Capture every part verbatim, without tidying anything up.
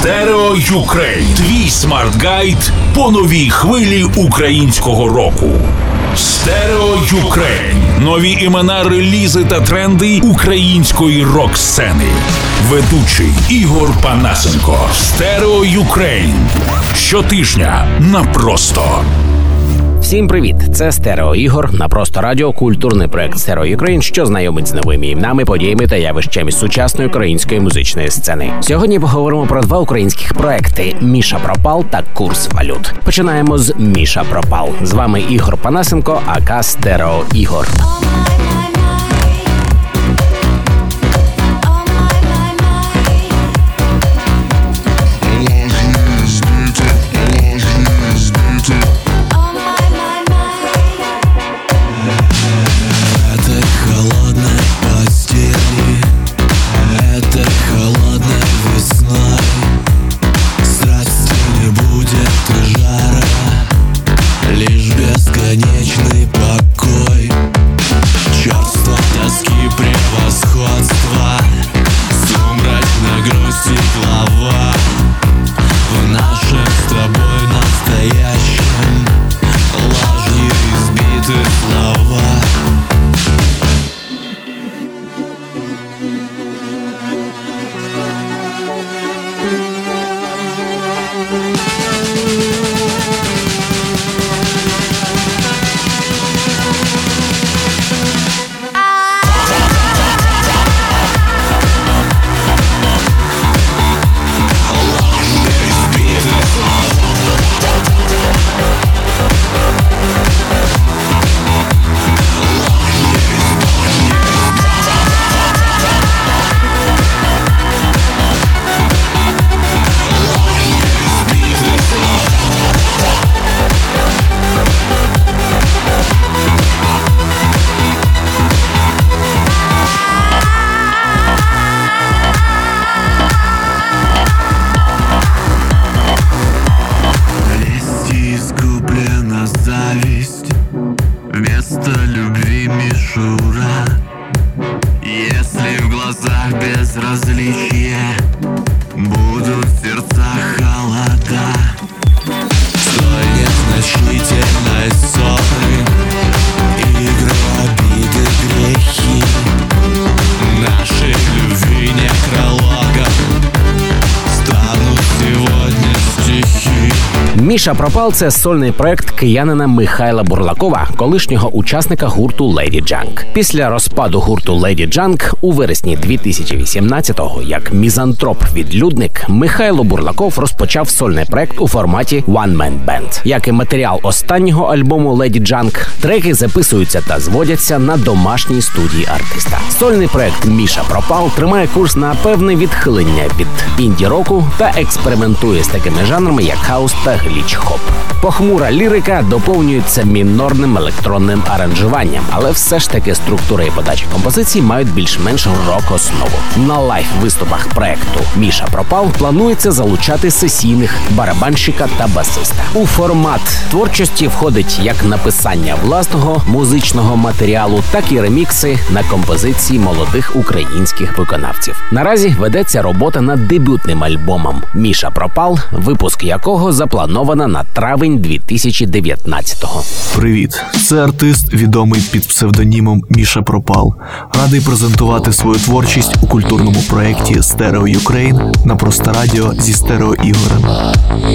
Стерео Юкрейн. Твій смарт-гайд по новій хвилі українського року. Стерео Юкрейн. Нові імена, релізи та тренди української рок-сцени. Ведучий Ігор Панасенко. Стерео Юкрейн. Щотижня на Просто. Всім привіт! Це Стерео Ігор на Просто Радіо, культурний проект Стерео Юкрейн, що знайомить з новими іменами, подіями та явищами сучасної української музичної сцени. Сьогодні поговоримо про два українських проекти «Міша Пропал» та «Курс валют». Починаємо з «Міша Пропал». З вами Ігор Панасенко, ака Стерео Ігор. Бесконечный покой, чувство тоски, превосходства, сумрачной грусти глава. В нашем с тобой настоящем ложью избиты слова. Вместо любви мишура. Если в глазах безразличие, будут в сердцах холода. Столь незначительной ссоры, игры, обиды, грехи, нашей любви некрологом станут сегодня стихи. «Міша Пропал» – це сольний проект киянина Михайла Бурлакова, колишнього учасника гурту Lady Junk. Після розпаду гурту Lady Junk у вересні дві тисячі вісімнадцятого, як мізантроп-відлюдник, Михайло Бурлаков розпочав сольний проект у форматі One Man Band. Як і матеріал останнього альбому Lady Junk, треки записуються та зводяться на домашній студії артиста. Сольний проект «Міша Пропал» тримає курс на певне відхилення від інді-року та експериментує з такими жанрами, як хаус та гліч-хоп. Похмура лірика доповнюється мінорним електронним аранжуванням, але все ж таки структура і подача композицій мають більш-менш рок-основу. На лайв-виступах проекту «Міша Пропал» планується залучати сесійних барабанщика та басиста. У формат творчості входить як написання власного музичного матеріалу, так і ремікси на композиції молодих українських виконавців. Наразі ведеться робота над дебютним альбомом «Міша Пропал», випуск якого заплановано на травень дві тисячі дев'ятнадцятого. Привіт, це артист, відомий під псевдонімом Міша Пропал. Радий презентувати свою творчість у культурному проєкті Стерео Юкрейн на Просто Радіо зі Стерео Ігорем.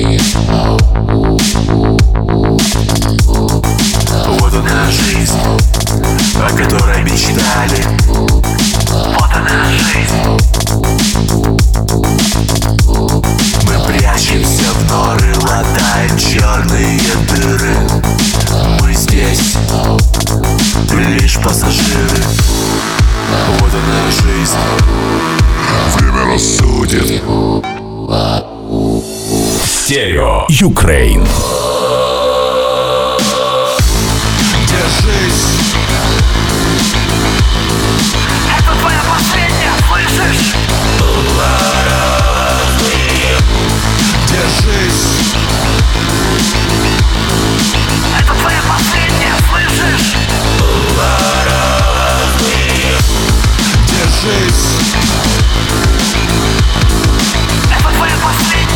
Вот она жизнь, о которой мечтали. Вот она жизнь. Мы прячемся в норы, латаем черные дыры. Мы здесь лишь пассажиры. Вот она жизнь. Время рассудит. Стерео Юкрейн. Держись. Это твоя последняя, слышишь? Держись. Это твоя последняя, слышишь? Держись. Это твоя последняя.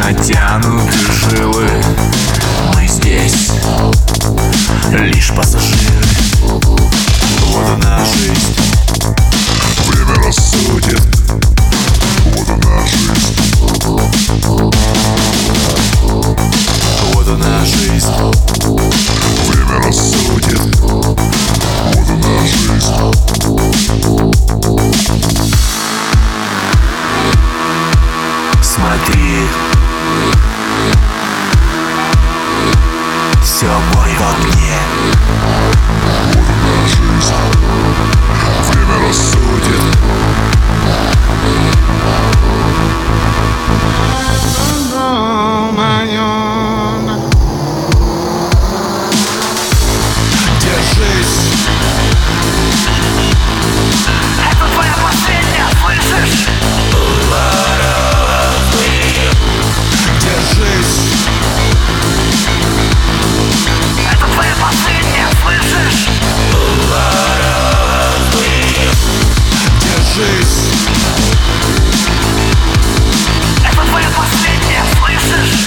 натянуты жилы. Мы здесь лишь пассажиры. Вот она жизнь, время рассудит. Вот она жизнь, вот она жизнь, время рассудит. Вот она жизнь. Смотри, все бой в огне. Вот она жизнь, время рассудит. Держись. Это твоя последняя, слышишь? Держись. Это твоя последняя, слышишь? Держись. Это твоя последняя, слышишь?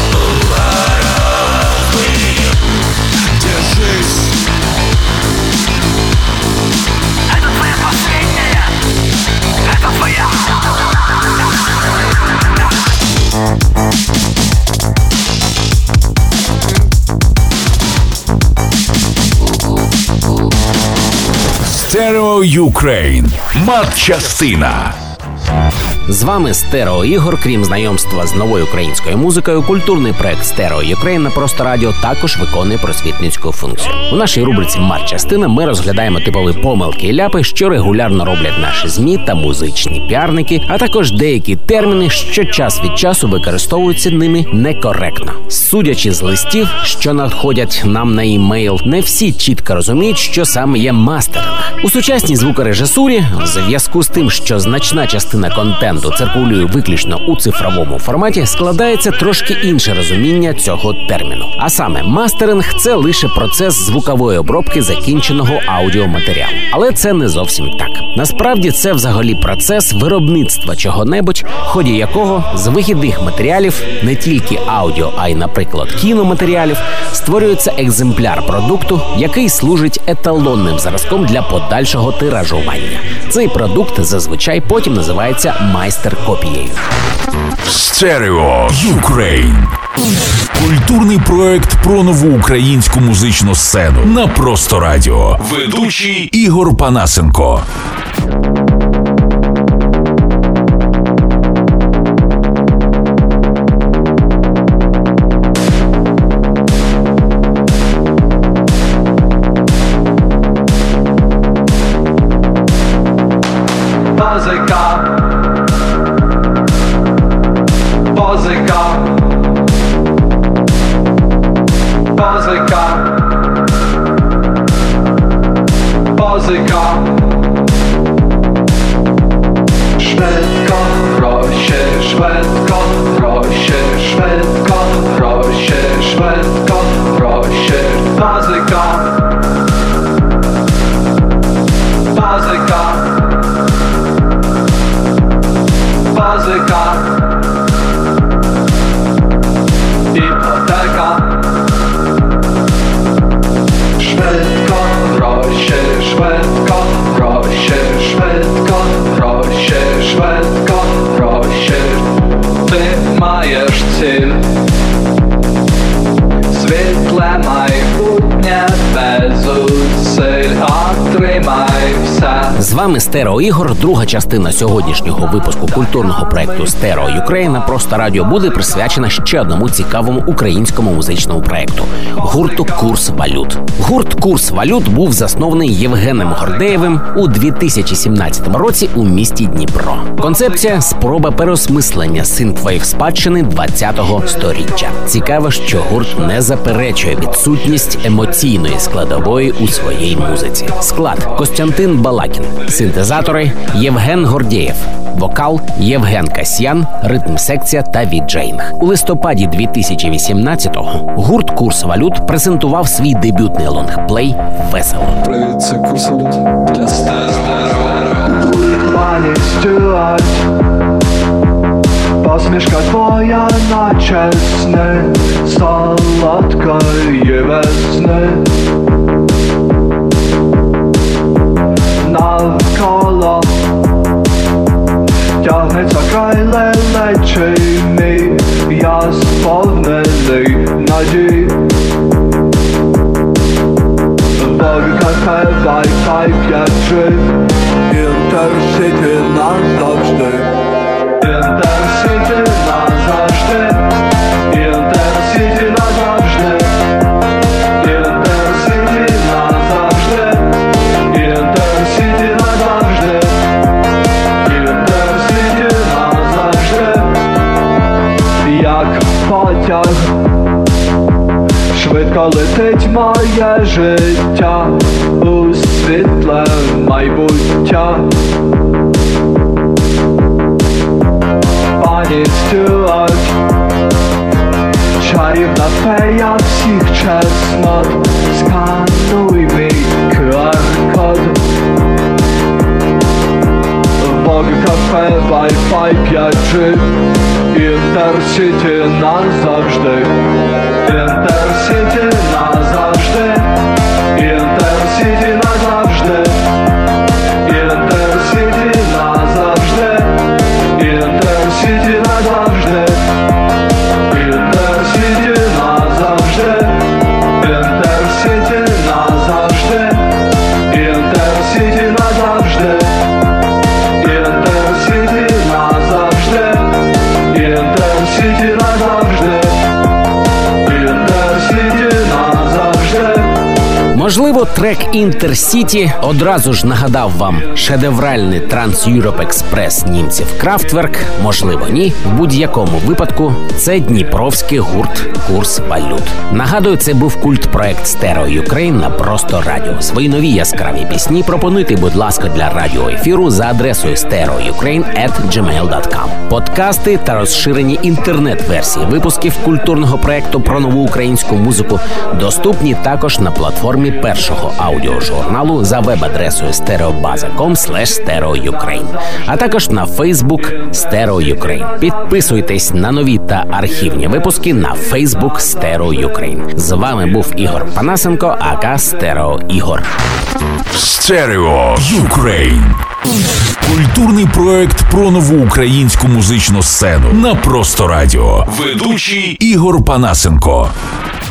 Держись. Это твоя последняя. Это твоя. Стерео Юкрейн. Матчастина. З вами Стерео Ігор. Крім знайомства з новою українською музикою, культурний проект Стерео Юкрейн на Просто Радіо також виконує просвітницьку функцію. У нашій рубриці «Матчастина» ми розглядаємо типові помилки і ляпи, що регулярно роблять наші ЗМІ та музичні піарники, а також деякі терміни, що час від часу використовуються ними некоректно. Судячи з листів, що надходять нам на імейл, не всі чітко розуміють, що саме є мастеринг. У сучасній звукорежисурі, в зв'язку з тим, що значна частина контенту циркулює виключно у цифровому форматі, складається трошки інше розуміння цього терміну. А саме, мастеринг – це лише процес звукової обробки закінченого аудіоматеріалу. Але це не зовсім так. Насправді це взагалі процес виробництва чого-небудь, в ході якого з вихідних матеріалів, не тільки аудіо, а й, наприклад, кіноматеріалів, створюється екземпляр продукту, який служить еталонним зразком для подальшого тиражування. Цей продукт зазвичай потім називається майстер-копією. Стерео Юкрейн. Культурний проект про нову українську музичну сцену на Просто Радіо. Ведучий Ігор Панасенко. З вами Стерео Ігор. Друга частина сьогоднішнього випуску культурного проекту Стерео Юкрейн на Просто Радіо буде присвячена ще одному цікавому українському музичному проекту – гурту «Курс валют». Гурт «Курс валют» був заснований Євгеном Гордеєвим у дві тисячі сімнадцятому році у місті Дніпро. Концепція – спроба переосмислення синтвейв спадщини двадцятого сторіччя. Цікаво, що гурт не заперечує відсутність емоційної складової у своїй музиці. Склад – Костянтин Балакін. Синтезатори – Євген Гордєєв. Вокал – Євген Касьян, ритм-секція та віджейнг. У листопаді дві тисячі вісімнадцятого гурт «Курс валют» презентував свій дебютний лонгплей «Весело». Привіт, це «Курс валют» для Стерео. Money Stewart, boss Усмішка твоя, наче сни солодкої весни. Навколо тягнеться край лелечий мій, я сповнений надій. Кафе, Wi-Fi, п'ять джі, Інтерсіті назавжди, Інтерсіті назавжди, Інтерсіті назавжди, Інтерсіті назавжди, Інтерсіті назавжди, Інтерсіті назавжди, як потяг. Швидко летить моє життя у світле майбуття. Пані Стюарт, чарівна фея всіх чеснот, скануй мій ку ар-код. Бог кафе, Wi-Fi, п'ять джі, Інтерсіті назавжди, Інтерсіті назавжди, Інтерсіті назавжди, Інтерсіті назавжди, Інтерсіті назавжди, Інтерсіті назавжди, Інтерсіті назавжди, Інтерсіті назавжди, Інтерсіті назавжди, Інтерсіті назавжди. Можливо, трек «Інтерсіті» одразу ж нагадав вам шедевральний Транс-Юроп Експрес німців Крафтверк. Можливо, ні. В будь-якому випадку це дніпровський гурт «Курс валют». Нагадую, це був культпроект Стерео Юкрейн на Просто Радіо. Свої нові яскраві пісні пропонуйте, будь ласка, для радіоефіру за адресою стереоюкрейн ет джимейл крапка ком. Подкасти та розширені інтернет-версії випусків культурного проекту про нову українську музику доступні також на платформі першого аудіожурналу за веб-адресою стереобаза крапка ком слеш стереоюкрейн, а також на Фейсбук Стерео Юкрейн. Підписуйтесь на нові та архівні випуски на Фейсбук Стерео Юкрейн. З вами був Ігор Панасенко, ака Стерео Ігор. Стерео Юкрейн. Культурний проект про нову українську музичну сцену на Просто Радіо. Ведучий Ігор Панасенко.